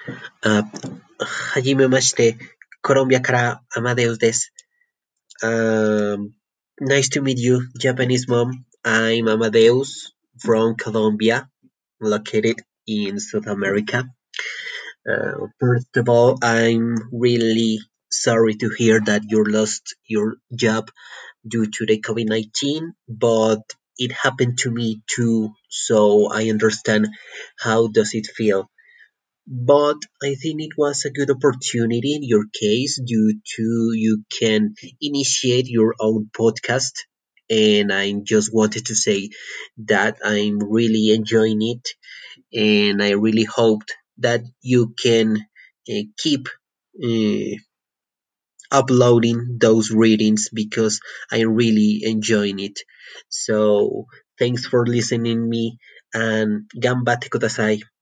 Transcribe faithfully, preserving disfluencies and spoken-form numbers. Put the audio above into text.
あ、はじめまして。コロンビアからアマデウスです。Um, Nice to meet you, Japanese mom. I'm Amadeus from Colombia, located in South America. Uh, first of all, I'm really sorry to hear that you lost your job due to the COVID nineteen, but it happened to me too, so I understand how does it feel. But I think it was a good opportunity in your case due to you can initiate your own podcast. And I just wanted to say that I'm really enjoying it, and I really hoped that you can uh, keep uh, uploading those readings because I'm really enjoying it. So thanks for listening me and gambate kudasai.